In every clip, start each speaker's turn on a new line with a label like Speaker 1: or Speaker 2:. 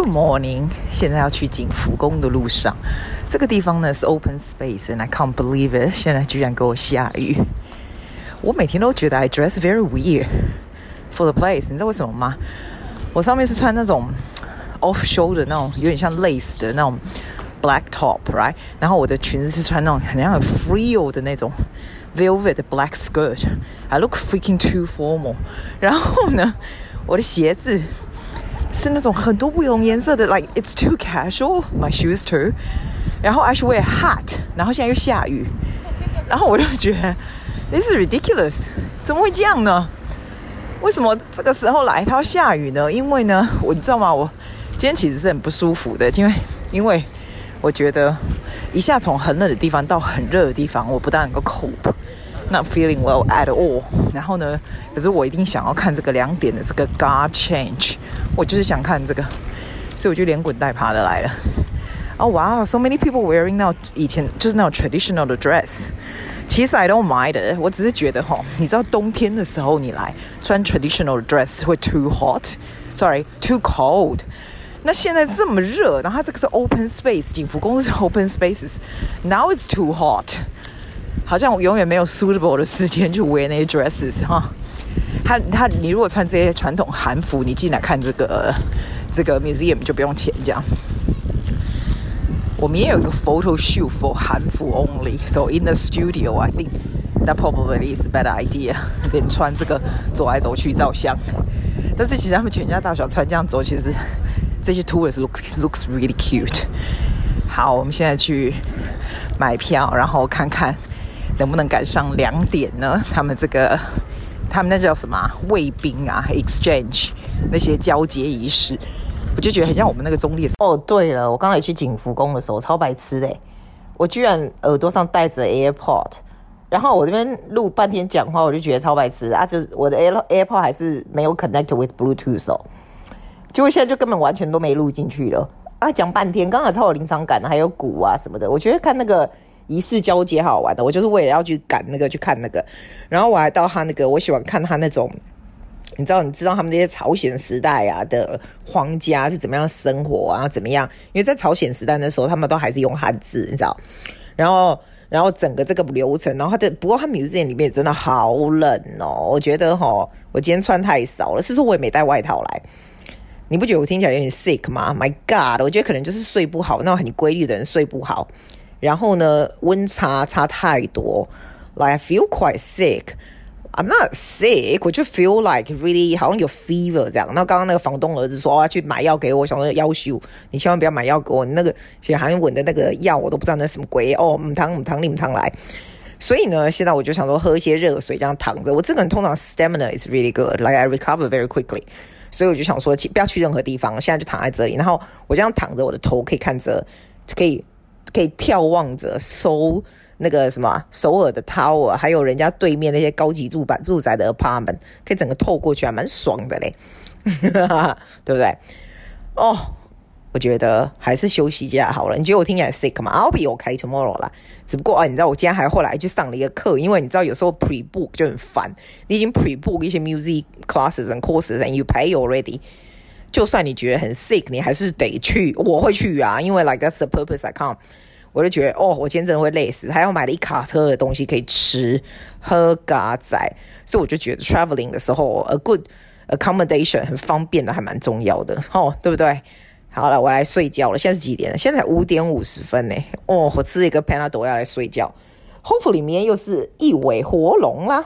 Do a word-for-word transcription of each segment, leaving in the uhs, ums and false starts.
Speaker 1: morning， 現在要去景福宮的路上，這個地方呢是 open space，and I can't believe it， 現在居然給我下雨。我每天都覺得 I dress very weird for the place， 你知道為什麼嗎？我上面是穿那種 off shoulder 那種有點像 lace 的那種 black top，right？ 然後我的裙子是穿那種很像很 frill 的那種 velvet black skirt，I look freaking too formal。然後呢，我的鞋子是那種很多不同顏色的 ，like it's too casual. My shoes too. 然後 I should wear a hat. 然後現在又下雨，然後我就覺得 this is ridiculous. 怎麼會這樣呢？為什麼這個時候來它要下雨呢？因為呢，我你知道嗎？我今天其實是很不舒服的，因為因為我覺得一下從很冷的地方到很熱的地方，我不大能夠 cope。Not feeling well at all。然後呢，可是我一定想要看這個兩點的這個 guard change， 我就是想看這個，所以我就連滾帶爬的來了。哦，哇 ，so many people wearing 那以前就是那種 traditional 的 dress。其實 I don't mind it， 我只是覺得齁，你知道冬天的時候你來穿 traditional 的 dress 會 too hot，sorry，too cold。那現在這麼熱，然後它這個是 open space， 景福宮是 open spaces，now it's too hot。好像我永遠沒有 suitable 的時間去 wear 那些 dresses 哈。他他，你如果穿這些傳統韓服，你進來看這個這個 museum 就不用錢這樣。我明天有一個 photo shoot for 韓服 only，so in the studio I think that probably is a better idea。連穿這個走來走去照相，但是其實他們全家大小穿這樣走，其實這些 tourists looks looks really cute。好，我們現在去買票，然後看看能不能趕上兩點呢？他們這個，他們那叫什麼衛兵啊 ？exchange 那些交接儀式，我就覺得很像我們那個中立。哦，對了，我剛才去景福宮的時候超白痴的，我居然耳朵上戴着 AirPod， 然後我這邊錄半天講話，我就覺得超白痴啊！就是我的 AirPod 還是沒有 connect with Bluetooth 哦，結果現在就根本完全都沒錄進去了啊！講半天，剛才超有臨場感的，還有鼓啊什麼的，我覺得看那個儀式交接好玩的，我就是為了要去趕那個去看那個，然後我還到他那個，我喜歡看他那種，你知道你知道他們那些朝鮮時代啊的皇家是怎麼樣生活啊，怎麼樣？因為在朝鮮時代的時候，他們都還是用漢字，你知道，然後然後整個這個流程，然後他的不過他 museum 裡面真的好冷哦，我覺得齁，我今天穿太少了，是說我也沒帶外套來。你不覺得我聽起來有點 sick 嗎 ？My God， 我覺得可能就是睡不好，那種很規律的人睡不好。然後呢，溫差差太多 ，like I feel quite sick. I'm not sick， 我就 feel like really 好像有 fever 這樣。然後剛剛那個房東兒子說，哦，要去買藥給我，我想說要求你千萬不要買藥給我，你那個寫韓文的那個藥我都不知道那是什麼鬼哦，母湯母湯你母湯來。所以呢，現在我就想說喝一些熱水，這樣躺着。我這個人通常 stamina is really good，like I recover very quickly。所以我就想說，不要去任何地方，現在就躺在這裡。然後我這樣躺着，我的頭可以看着，可以。可以眺望着首那個什麼首爾的 tower， 還有人家對面那些高級住板住宅的 apartment， 可以整個透過去，還蠻爽的嘞，對不對？哦，我覺得還是休息一下好了。你覺得我聽起來 sick 嗎 ？I'll be okay tomorrow 啦。只不過啊，你知道我今天還後來去上了一個課，因為你知道有時候 pre book 就很煩，你已經 pre book 一些 music classes and courses and you pay already。就算你覺得很 sick， 你還是得去。我會去啊，因為 like that's the purpose I come。我就覺得哦，我今天真的會累死，還要買了一卡車的東西可以吃喝嘎仔，所以我就覺得 traveling 的時候 a good accommodation 很方便的，還蠻重要的哦，對不對？好了，我來睡覺了。現在是幾點了？現在才五點五十分呢。哦，我吃了一個 Panadol要來睡覺。Hopefully 明天又是一尾活龍啦。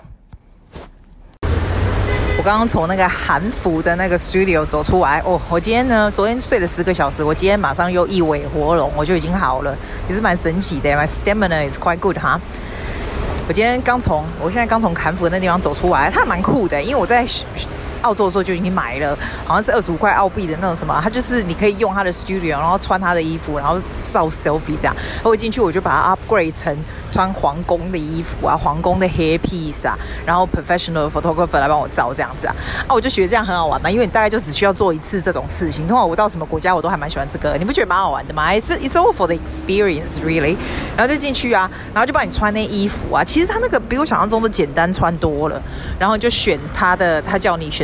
Speaker 1: 我剛剛從那個韓服的那個 studio 走出來哦，我今天呢，昨天睡了十個小時，我今天馬上又一尾活龍，我就已經好了，也是蠻神奇的。My stamina is quite good 哈。我今天剛從，我現在剛從韓服的那地方走出來，它蠻酷的，因為我在澳洲的時候就已經買了，好像是二十五塊澳幣的那種什麼，它就是你可以用它的 studio， 然後穿它的衣服，然後照 selfie 這樣。我進去我就把它 upgrade 成穿皇宮的衣服啊，皇宮的 hairpiece 啊，然後 professional photographer 來幫我照這樣子啊。啊，我就覺得這樣很好玩嘛，因為你大概就只需要做一次這種事情。通常我到什麼國家我都還蠻喜歡這個，你不覺得蠻好玩的嗎？ It's it's all for the experience really。然後就進去啊，然後就幫你穿那衣服啊。其實它那個比我想象中的簡單穿多了，然後就選它的，他叫你選的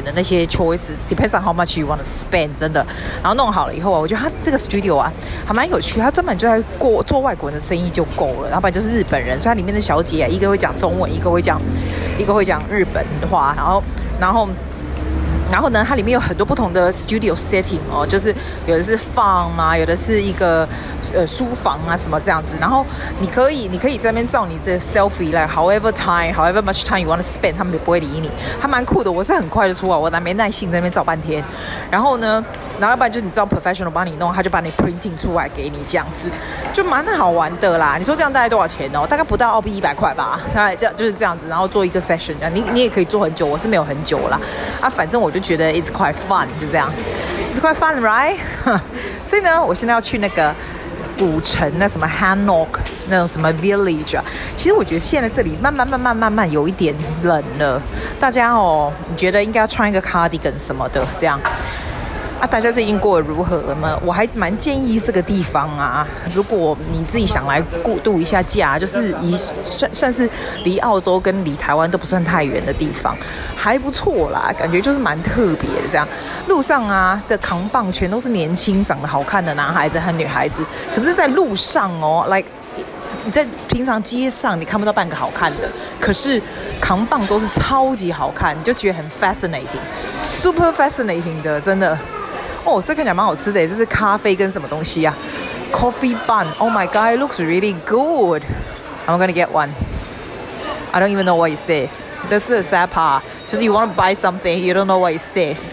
Speaker 1: 的那些 choices，depends on how much you want to spend， 真的。然後弄好了以後啊，我覺得他這個 studio 啊還蠻有趣，他專門就在過做外國人的生意就夠了，然後不然就是日本人，所以它裡面的小姐啊，一個會講中文，一個會講一個會講日本話，然後然後。然後呢，它裡面有很多不同的 studio setting 哦，就是有的是farm啊，有的是一個呃書房啊什麼這樣子。然後你可以，你可以在那邊照你這 selfie 來 ，however time, however much time you want to spend， 他們也不會理你，還蠻酷的。我是很快就出來，我還沒耐性在那邊照半天。然後呢，然後要不然就是你照 professional 幫你弄，他就把你 printing 出來給你這樣子，就蠻好玩的啦。你說這樣大概多少錢哦？大概不到澳幣一百塊吧。大概這樣就是這樣子，然後做一個 session， 你你也可以做很久，我是沒有很久啦。啊，反正我就覺得 it's quite fun， 就這樣 ，it's quite fun, right？ 所以呢，我現在要去那個古城，那什麼 Hanok 那種什麼 village 啊。其實我覺得現在這裡慢慢慢慢慢慢有一點冷了，大家哦，你覺得應該要穿一個 cardigan 什麼的，這樣。啊，大家最近過得如何呢？我還蠻建議這個地方啊，如果你自己想來過度一下假，就是以算算是離澳洲跟離台灣都不算太遠的地方，還不錯啦，感覺就是蠻特別的這樣。路上啊的扛棒全都是年輕長得好看的男孩子和女孩子，可是在路上哦 ，like 你在平常街上你看不到半個好看的，可是扛棒都是超級好看，你就覺得很 fascinating，super fascinating 的，真的。哦，這看起來蠻好吃的，這是咖啡跟什麼東西啊 ？Coffee bun. Oh my god, it looks really good. I'm gonna get one. I don't even know what it says. That's the sad part. 就是 you want to buy something, you don't know what it says.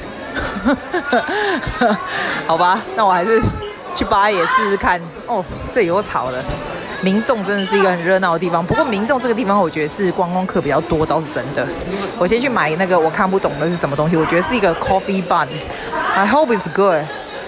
Speaker 1: 好吧，那我還是去巴耶試試看。哦，這裡有草了。明洞真的是一個很熱鬧的地方，不過明洞這個地方我覺得是觀光客比較多，倒是真的。我先去買那個我看不懂的是什麼東西，我覺得是一個 coffee bun。I hope it's good.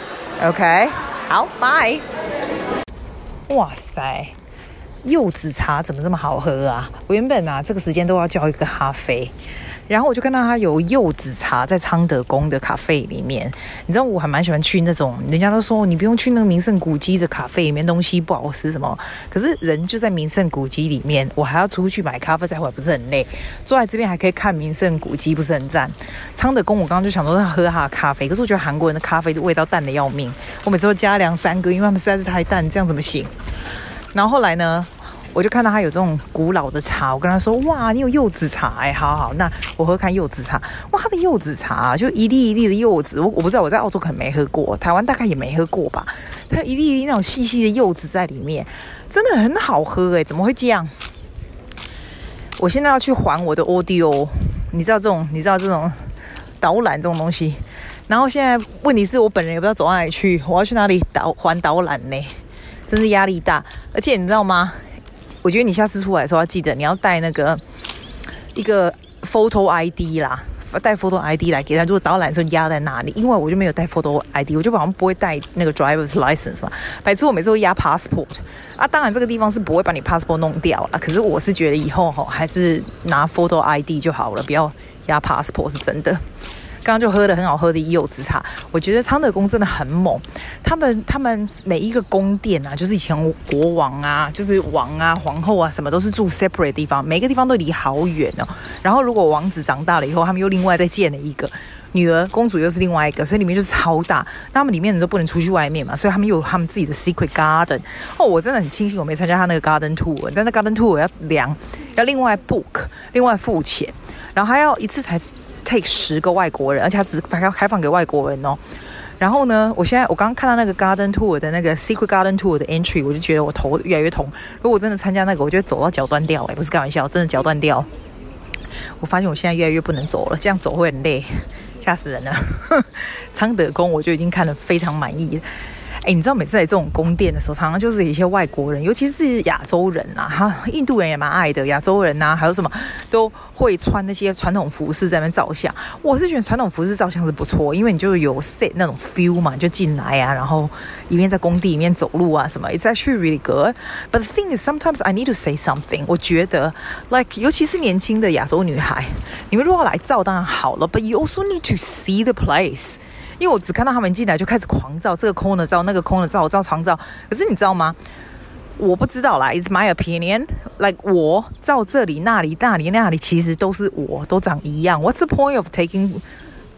Speaker 1: OK， 好，拜。哇塞，柚子茶怎麼這麼好喝啊？我原本啊這個時間都要叫一個咖啡。然後我就看到他有柚子茶在昌德宮的咖啡裡面，你知道我還蠻喜歡去那種，人家都說你不用去那個名勝古蹟的咖啡裡面，東西不好吃什麼，可是人就在名勝古蹟裡面，我還要出去買咖啡再回來，不是很累？坐在這邊還可以看名勝古蹟，不是很讚？昌德宮我剛剛就想說要喝他的咖啡，可是我覺得韓國人的咖啡的味道淡的要命，我每次都加兩三個，因為他們實在是太淡，這樣怎麼行？然後後來呢？我就看到他有這種古老的茶，我跟他說：“哇，你有柚子茶哎，好好，那我喝看柚子茶。哇，他的柚子茶就一粒一粒的柚子，我我不知道我在澳洲可能沒喝過，台灣大概也沒喝過吧。它有一粒一粒那種細細的柚子在裡面，真的很好喝哎，怎麼會這樣？我現在要去還我的 audio， 你知道這種，你知道這種導覽這種東西。然後現在問題是我本人也不知道走到哪裡去，我要去哪裡導還導覽呢？真是壓力大，而且你知道嗎？”我覺得你下次出來的時候要記得你要帶那個一個 photo I D 啦，帶 photo I D 來給他。如果導覽的時候壓在那裡，因為我就沒有帶 photo I D， 我就好像不會帶那個 driver's license 嘛。白痴，我每次都壓 passport 啊。當然這個地方是不會把你 passport 弄掉啦，可是我是覺得以後還是拿 photo I D 就好了，不要壓 passport 是真的。剛剛就喝了很好喝的柚子茶，我覺得昌德宮真的很猛。他們他們每一個宮殿啊，就是以前國王啊，就是王啊、皇後啊，什麼都是住 separate 的地方，每個地方都離好遠哦。然後如果王子長大了以後，他們又另外再建了一個女兒，公主又是另外一個，所以裡面就是超大。那他們裡面人都不能出去外面嘛，所以他們又有他們自己的 secret garden。哦，我真的很慶幸我沒參加他那個 garden tour， 但那 garden tour 要量，要另外 book， 另外付錢。然後還要一次才 take 十個外國人，而且他只開開放給外國人哦。然後呢，我現在我剛剛看到那個 garden tour 的那個 secret garden tour 的 entry， 我就覺得我頭越來越痛。如果我真的參加那個，我就會走到腳斷掉，哎，不是開玩笑，真的腳斷掉。我發現我現在越來越不能走了，這樣走會很累，嚇死人了。昌德宮我就已經看得非常滿意了。哎，你知道每次來這種宮殿的時候，常常就是有一些外國人，尤其是亞洲人啊，哈，印度人也蠻愛的，亞洲人啊，還有什麼都會穿那些傳統服飾在那邊照相。我是覺得傳統服飾照相是不錯，因為你就有 set 那種 feel 嘛，你就進來啊，然後一邊在工地裡面走路啊什麼 ，it's actually really good. But the thing is, sometimes I need to say something. 我覺得 ，like 尤其是年輕的亞洲女孩，你們如果來照當然好了 ，but you also need to see the place.因為我只看到他們進來就開始狂照，這個 corner 照，那個 corner 照，我照床照。可是你知道嗎？我不知道啦 ，It's my opinion. Like 我照這裡、那裡、那裡、那裡，其實都是我，都長一樣。What's the point of taking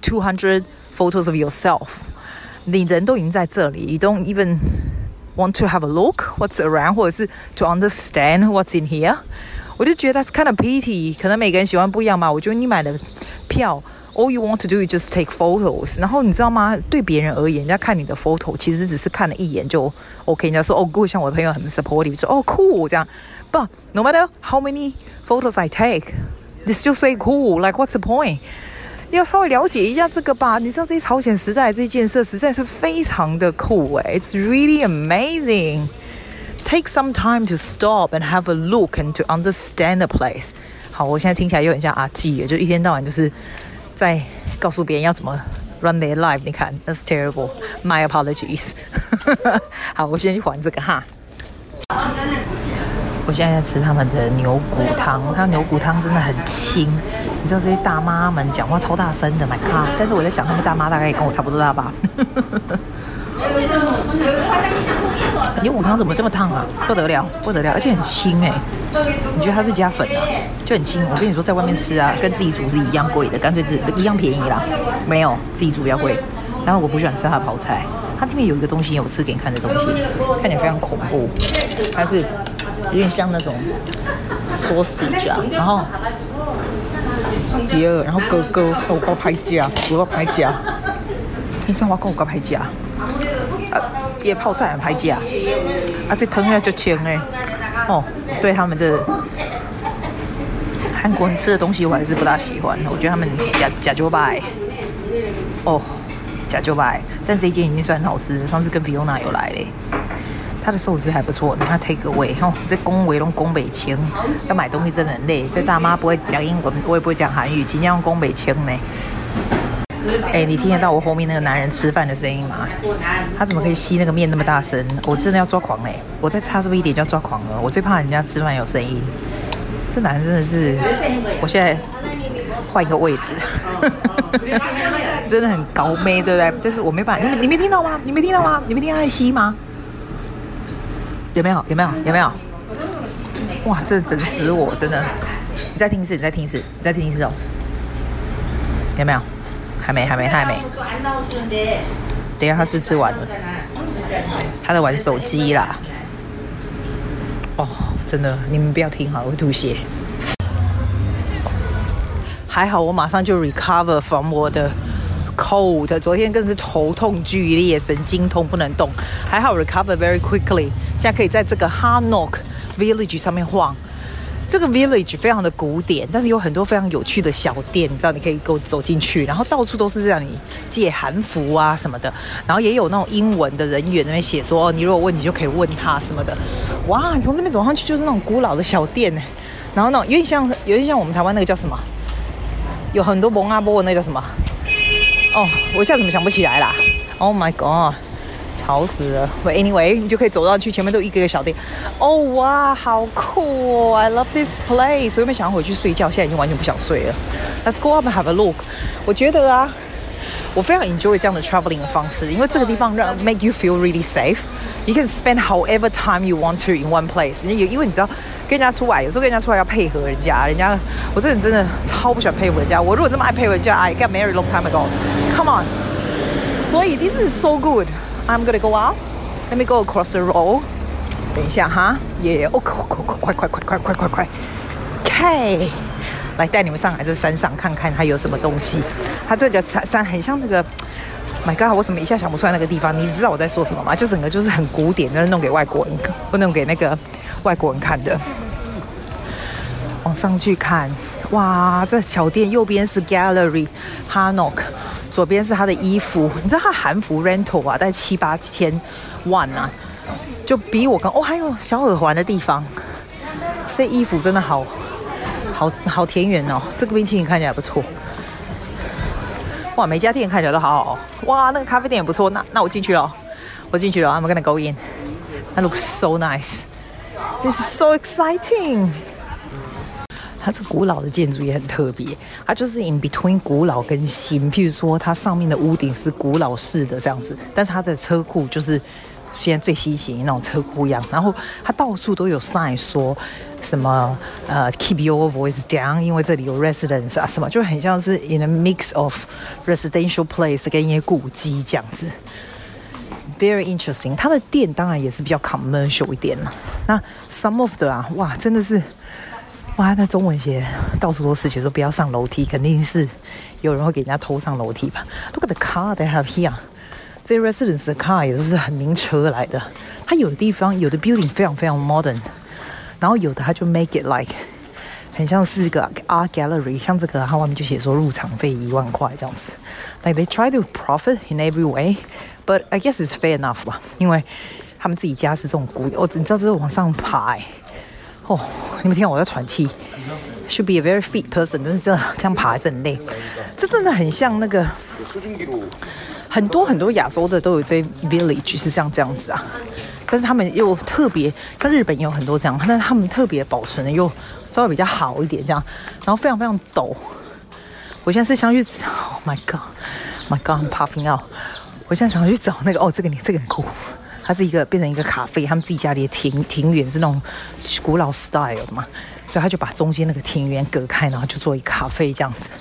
Speaker 1: two hundred photos of yourself. 你人都已經在這裡 You don't even want to have a look what's around 或者是 to understand what's in here. 我就覺得 that's kind of pity. 可能每個人喜歡不一樣嘛。我覺得你買的票 all you want to do is just take photos. 然後你知道嗎？對別人而言，人家看你的 photo 其實只是看了一眼就 OK。人家說哦 good， 像我的朋友很 supportive， 說哦 cool 這樣。But no matter how many photos I take, they still say cool. Like what's the point?要稍微了解一下這個吧，你知道這些朝鮮時代的這些建設實在是非常的酷誒 It's really amazing. Take some time to stop and have a look and to understand the place. 好，我現在聽起來有點像阿紀，就一天到晚就是在告訴別人要怎麼 run their life. 你看 ，that's terrible. My apologies. 好，我先去還這個哈。我現在在吃他們的牛骨湯，他牛骨湯真的很清。你知道這些大媽們講話超大聲的 ，My God！ 但是我在想，他們大媽大概也跟我差不多大吧。牛骨湯怎麼這麼燙啊？不得了，不得了，而且很清哎、欸。你覺得它是加粉啊？就很清。我跟你說，在外面吃啊，跟自己煮是一樣貴的，乾脆是一樣便宜啦。沒有，自己煮比較貴。然後我不喜歡吃它的泡菜，它這邊有一個東西，我吃給你看的東西，看起來非常恐怖，它是有點像那種 sausage 啊，然後。第二，然後哥哥我搞拍價，我搞拍價，你上我講我搞拍價，啊，也泡菜很拍價，啊，這湯要就清哎，哦，對他們這韓國人吃的東西我還是不大喜歡，我覺得他們假假酒擺，哦，假酒擺，但這一間已經算很好吃了，上次跟 Fiona 有來嘞。他的壽司還不錯，他 take away 吼，在恭維攏恭北清，要買東西真的很累。這大媽不會講英文，我也不會講韓語，盡量用恭北清呢。哎，你聽得到我後面那個男人吃飯的聲音嗎？他怎麼可以吸那個麵那麼大聲？我真的要抓狂嘞！我再差這麼一點就要抓狂了。我最怕人家吃飯有聲音。這男人真的是，我現在換一個位置，真的很高妹，對不對？但是我沒辦法，你你沒聽到嗎？你沒聽到嗎？你沒聽到他在吸嗎？有沒有？有沒有？有沒有？哇，這整死我！真的，你再聽一次，你再聽一次，你再聽一次哦。有沒有？還沒，還沒，他還沒。等一下，他是不是吃完了？他在玩手機啦。哦，真的，你們不要聽好，我會吐血。還好，我馬上就 recover from 我的 cold， 昨天更是頭痛劇烈，神經痛不能動。還好 recover very quickly， 現在可以在這個 Hanok Village 上面晃。這個 village 非常的古典，但是有很多非常有趣的小店，你知道，你可以給我走進去，然後到處都是讓你借韓服啊什麼的，然後也有那種英文的人員在那邊寫說，你如果問題就可以問他什麼的。哇，你從這邊走上去就是那種古老的小店，然後那種有點像，有點像我們台灣那個叫什麼，有很多蒙阿波的那個叫什麼？哦，我一下怎麼想不起來啦 ？Oh my god！吵死了 But anyway 你就可以走到去前面都一個一個小店哦哇好酷哦 I love this place 我原本想要回去睡覺現在已經完全不想睡了 Let's go up and have a look 我覺得啊我非常 enjoy 這樣的 traveling 的方式因為這個地方讓 make you feel really safe You can spend however time you want to in one place 因為你知道跟人家出來有時候跟人家出來要配合人家人家我這人真的超不喜歡配合人家我如果這麼愛配合人家 I got married long time ago Come on 所以 this is so good I'm gonna go out. Let me go across the road. 等一下哈，也哦，快快快快快快快快！K， 來帶你們上來這山上看看它有什麼東西。它這個山很像那個 ，My God， 我怎麼一下想不出來那個地方？你知道我在說什麼嗎？就整個就是很古典，就是弄給外國人，不弄給那個外國人看的。往上去看，哇，這小店右邊是 Gallery Hanok。左邊是他的衣服，你知道他韓服 rental 啊，大概七八千萬啊，就比我剛哦，還有小耳環的地方，這衣服真的好好好田園哦，這個冰淇淋看起來不錯，哇，每家店看起來都好好，哇，那個咖啡店也不錯，那那我進去了，我進去了 ，I'm gonna go in. That looks so nice. This is so exciting. 它這古老的建築也很特別，它就是 in between 古老跟新。譬如說，它上面的屋頂是古老式的這樣子，但是它的車庫就是現在最新型那種車庫一樣，然後它到處都有 sign 說什麼呃 keep your voice down， 因為這裡有 residence 啊什麼，就很像是 in a mix of residential place 跟一些古蹟這樣子。Very interesting， 它的店當然也是比較 commercial 一點了。那 some of the 啊，哇，真的是，哇，那中文寫到處都是，寫說不要上樓梯，肯定是有人會給人家偷上樓梯吧。Look at the car they have here， 這些 residence 的 car 也都是很名車來的。它有的地方有的 building 非常非常 modern， 然後有的它就 make it like 很像是一個 art gallery， 像這個它外面就寫說入場費一萬塊這樣子。Like they try to profit in every way。But I guess it's fair enough 吧，因為他們自己家是這種古，我、哦、你知道這是往上爬、欸，哦，你們聽我在喘氣 ，should be a very fit person， 但是這這樣爬還是很累，這真的很像那個，很多很多亞洲的都有這 village 是像這樣子啊，但是他們又特別，像日本也有很多這樣，但是他們特別保存的又稍微比較好一點這樣，然後非常非常陡，我現在是想去 ，Oh my God，My God，I'm puffing out。我現在想去找那個哦，這個這個很酷，它是一個變成一個咖啡，他們自己家裡的庭庭園是那種古老 style 的嘛，所以他就把中間那個庭園隔開，然後就做一個咖啡這樣子。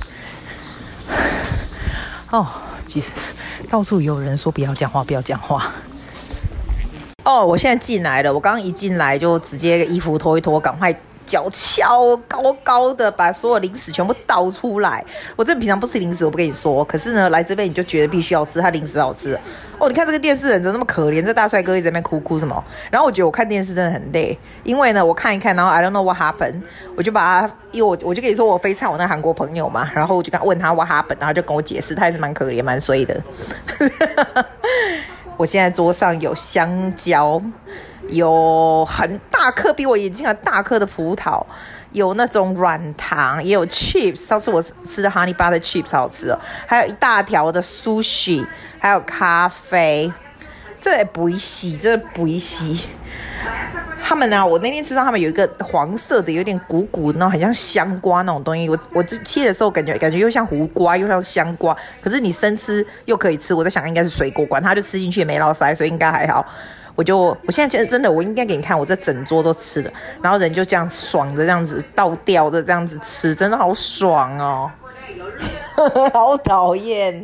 Speaker 1: 哦，其實到處有人說不要講話，不要講話。哦，我現在進來了，我剛剛一進來就直接衣服脫一脫，趕快。腳翹高高的，把所有零食全部倒出來。我這平常不吃零食，我不跟你說。可是呢，來這邊你就覺得必須要吃，它零食好吃。哦，你看這個電視人怎麼那麼可憐？這大帥哥一直在那邊哭哭什麼？然後我覺得我看電視真的很累，因為呢，我看一看，然後 I don't know what happened， 我就把他，因為我我就跟你說我非常我那韓國朋友嘛，然後我就跟問他 what happened， 然後他就跟我解釋，他也是蠻可憐蠻衰的。我現在桌上有香蕉。有很大顆，比我眼睛還大顆的葡萄，有那種軟糖，也有 chips。上次我吃的 honey butter chips 好吃哦，還有一大條的 sushi， 還有咖啡。這也不洗，這不洗。他們呢、啊，我那天吃到他們有一個黃色的，有點鼓鼓的，那種很像香瓜那種東西。我我切的時候感覺感覺又像胡瓜，又像香瓜。可是你生吃又可以吃，我在想應該是水果，管它就吃進去也沒落腮，所以應該還好。我就我現在真的，我應該給你看，我這整桌都吃了，然後人就這樣爽的這樣子倒掉的這樣子吃，真的好爽哦，好討厭。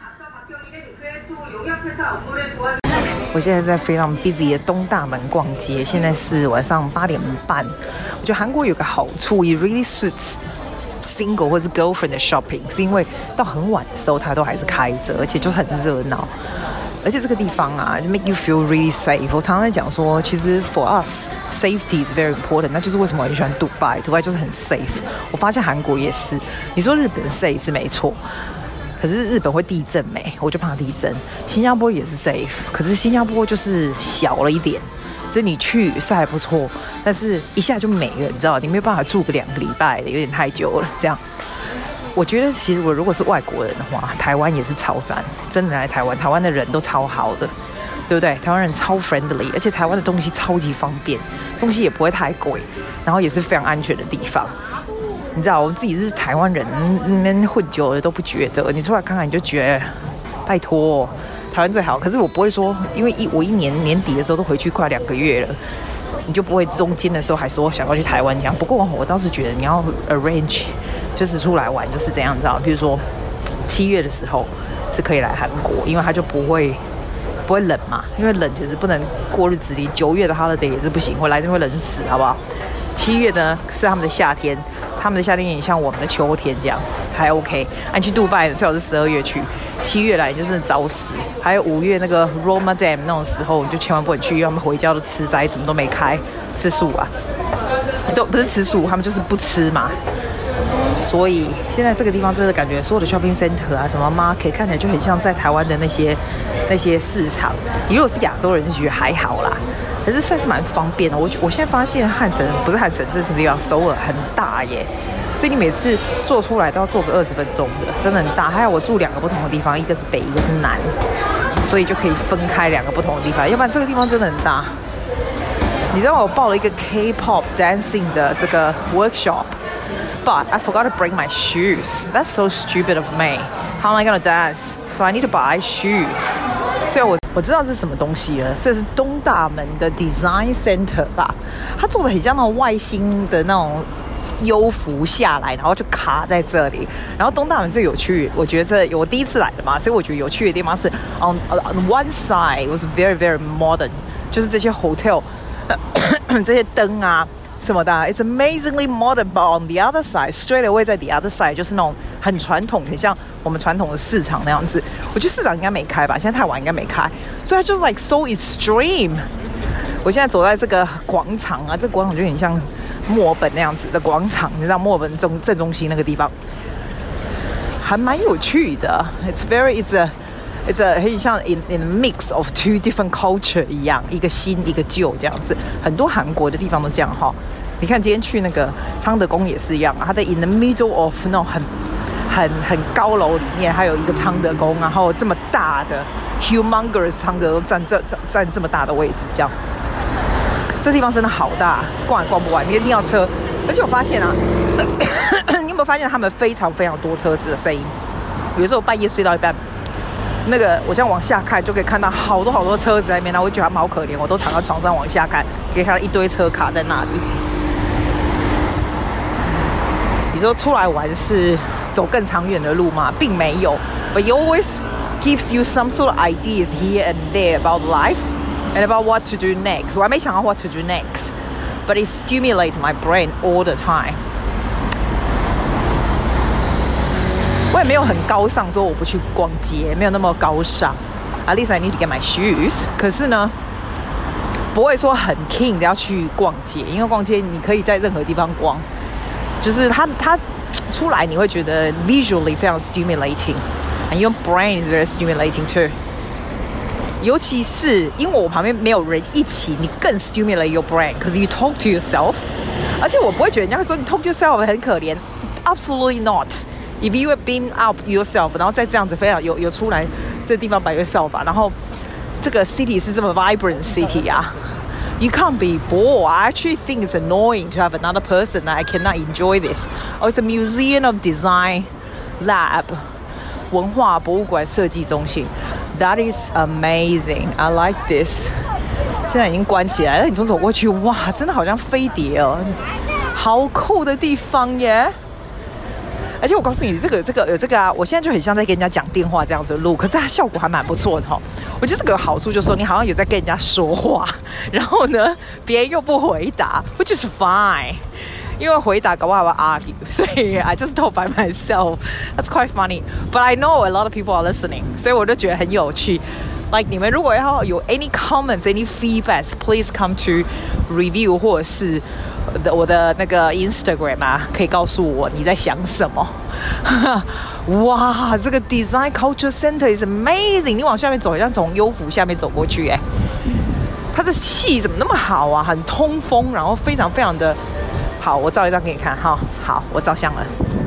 Speaker 1: 我現在在非常 busy 的東大門逛街，現在是晚上八點半。我覺得韓國有個好處 ，it really suits single 或是 girlfriend 的 shopping， 是因為到很晚的時候它都還是開着，而且就很熱鬧。而且這個地方啊，就 make you feel really safe。我常常在講說，其實 for us safety is very important。那就是為什麼我很喜歡杜拜，杜拜就是很 safe。我發現韓國也是。你說日本 safe 是沒錯，可是日本會地震沒？我就怕地震。新加坡也是 safe，可是新加坡就是小了一點，所以你去是還不錯，但是一下就沒了，你知道，你沒有辦法住個兩個禮拜的，有點太久了，這樣。我覺得其實我如果是外國人的話，台灣也是超讚，真的來台灣，台灣的人都超好的，對不對？台灣人超 friendly， 而且台灣的東西超級方便，東西也不會太貴，然後也是非常安全的地方。你知道，我們自己是台灣人，那邊混久了都不覺得，你出來看看你就覺得，拜託，台灣最好。可是我不會說，因為一我一年年底的時候都回去快兩個月了，你就不會中間的時候還說想要去台灣這樣。不過我倒是覺得你要 arrange。就是出來玩就是這樣，你知道？比如說七月的時候是可以來韓國，因為它就不會不會冷嘛，因為冷其實不能過日子裡。九月的 holiday 也是不行，我來就會冷死，好不好？七月呢是他們的夏天，他們的夏天也像我們的秋天這樣，還 OK。啊，你去杜拜最好是十二月去，七月來就是早死。還有五月那個 Ramadan 那種時候，你就千萬不能去，因為他們回家都吃齋，什麼都沒開，吃素啊，都不是吃素，他們就是不吃嘛。所以現在這個地方真的感覺所有的 shopping center 啊，什麼 market 看起來就很像在台灣的那些那些市場。你如果是亞洲人就覺得還好啦，可是算是蠻方便的。我我現在發現漢城不是漢城，這是地方首爾很大耶，所以你每次坐出來都要坐個二十分鐘的，真的很大。還有我住兩個不同的地方，一個是北，一個是南，所以就可以分開兩個不同的地方。要不然這個地方真的很大。你知道我報了一個 K-pop dancing 的這個 workshop。But I forgot to bring my shoes. That's so stupid of me. How am I gonna dance? So I need to buy shoes. 雖然我我知道這是什麼東西了，這是東大門的 Design Center 吧？它做的很像那種外星的那種幽浮下來，然後就卡在這裡。然後東大門最有趣，我覺得這我第一次來的嘛，所以我覺得有趣的地方是 on on one side was very very modern， 就是這些 hotel 這些燈啊什麼的 ，it's amazingly modern。But on the other side, straight away 在 the other side 就是那種很傳統，很像我們傳統的市場那樣子。我覺得市場應該沒開吧，現在太晚應該沒開，所以它就是 like so extreme。我現在走在這個廣場啊，這個廣場就很像墨爾本那樣子的廣場，你知道墨爾本正正中心那個地方，還蠻有趣的。It's very, it's a, it's a 很像 in in a mix of two different culture 一樣，一個新一個舊這樣子。很多韓國的地方都這樣哈。你看今天去那個昌德宮也是一樣啊，它在 in the middle of 那種很很很高樓裡面，還有一個昌德宮，然後這麼大的 humongous 昌德宮占這占占這麼大的位置，這樣。這地方真的好大，逛也逛不完，你一定要車。而且我發現啊，你有沒有發現他們非常非常多車子的聲音？有時候我半夜睡到一半，那個我這樣往下看就可以看到好多好多車子在那邊，然後我覺得他們好可憐，我都躺在床上往下看，可以看到一堆車卡在那裡。你說出來玩是走更長遠的路嗎？並沒有 ，but it always gives you some sort of ideas here and there about life。And about what to do next. 我還沒想到 what to do next, but it stimulates my brain all the time. 我也沒有很高尚說我不去逛街，沒有那麼高尚。At least I need to get my shoes. 可是呢，不會說很 keen 的要去逛街，因為逛街你可以在任何地方逛，就是它它出來你會覺得 visually 非常 stimulating, and your brain is very stimulating too.尤其是因為我旁邊沒有人一起，你更 stimulate your brain，because you talk to yourself。而且我不會覺得人家會說你 talk to yourself 很可憐 ，absolutely not。If you have been out yourself， 然後再這樣子非常有有出來這個地方 by yourself 啊，然後這個 city 是這麼 vibrant city 啊 ，you can't be bored. I actually think it's annoying to have another person that I cannot enjoy this. Oh, it's a museum of design lab， 文化博物館設計中心。That is amazing. I like this. 現在已經關起來了，你從走過去，哇，真的好像飛碟哦，好酷的地方耶！而且我告訴你，這個這個有這個啊，我現在就很像在跟人家講電話這樣子錄，可是它效果還蠻不錯的哈。我覺得這個有好處，就是說你好像有在跟人家說話，然後呢，別人又不回答 ，which is fine。因為回答搞不好I will argue，所以 I just talk by myself. That's quite funny. But I know a lot of people are listening， 所以我就覺得很有趣。Like 你們如果要有 any comments, any feedbacks, please come to review 或者是我的那個 Instagram 啊，可以告訴我你在想什麼。哇，這個 Design Culture Center is amazing！ 你往下面走，好像從優福下面走過去，哎，它的氣怎麼那麼好啊？很通風，然後非常非常的。好，我照一張給你看哈。好，我照相了。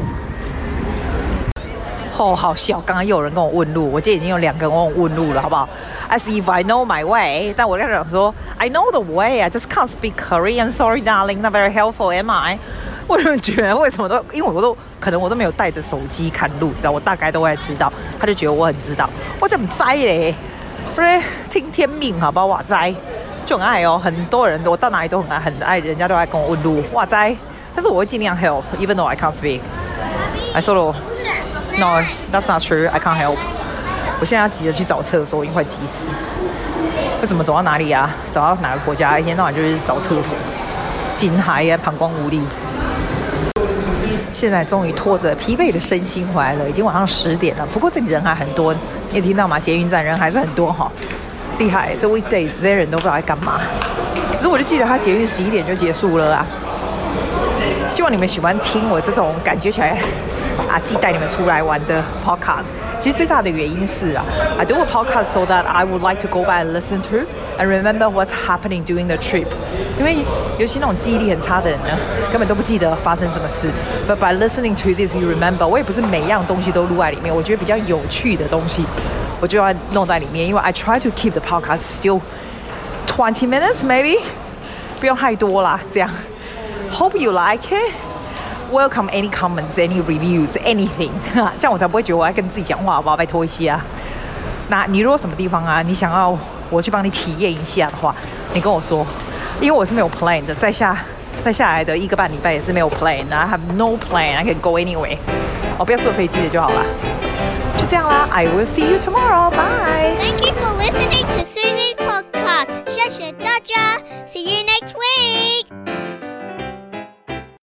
Speaker 1: 哦，好笑！剛剛又有人跟我問路，我今天已經有兩個人跟我問路了，好不好 ？As if I know my way， 但我在想說 ，I know the way， I just can't speak Korean. Sorry, darling, not very helpful, am I？ 我就覺得為什麼都，因為我都可能我都沒有帶着手機看路，你知道，我大概都會知道。他就覺得我很知道，我就唔知嘞，不是聽天命，好不好？我知。就很愛哦，很多人我到哪裡都很愛，很愛，人家都愛跟我問路，哇塞！但是我會盡量 help，even though I can't speak. I sort of no, that's not true. I can't help. 我現在要急着去找廁所，我已經快急死。為什麼走到哪裡啊？走到哪個國家，一天到晚就是找廁所，緊嗨啊，膀胱無力。現在終於拖着疲憊的身心回來了，已經晚上十點了。不過這裡人還很多，你也聽到嗎？捷運站人還是很多哈。厲害，這 weekdays 這些人都不知道在幹嘛。可是我就記得他捷運十一點就結束了啊。希望你們喜歡聽我這種感覺起來啊，既帶你們出來玩的 podcast。其實最大的原因是啊 ，I do a podcast so that I would like to go back and listen to and remember what's happening during the trip。因為尤其那種記憶力很差的人呢，根本都不記得發生什麼事。But by listening to this, you remember。我也不是每樣東西都錄在裡面，我覺得比較有趣的東西。我就要弄在裡面，因為 I try to keep the podcast still twenty minutes maybe， 不用太多啦，這樣。Hope you like it. Welcome any comments, any reviews, anything 。這樣我才不會覺得我在跟自己講話，好不好？拜託一些啊。 那你如果什麼地方啊，你想要我去幫你體驗一下的話，你跟我說，因為我是沒有 plan 的，再下再下來的一個半禮拜也是沒有 plan，I have no plan, I can go anyway。哦，不要坐飛機的就好了。就這樣啦 ，I will see you tomorrow. Bye.
Speaker 2: Thank you for listening to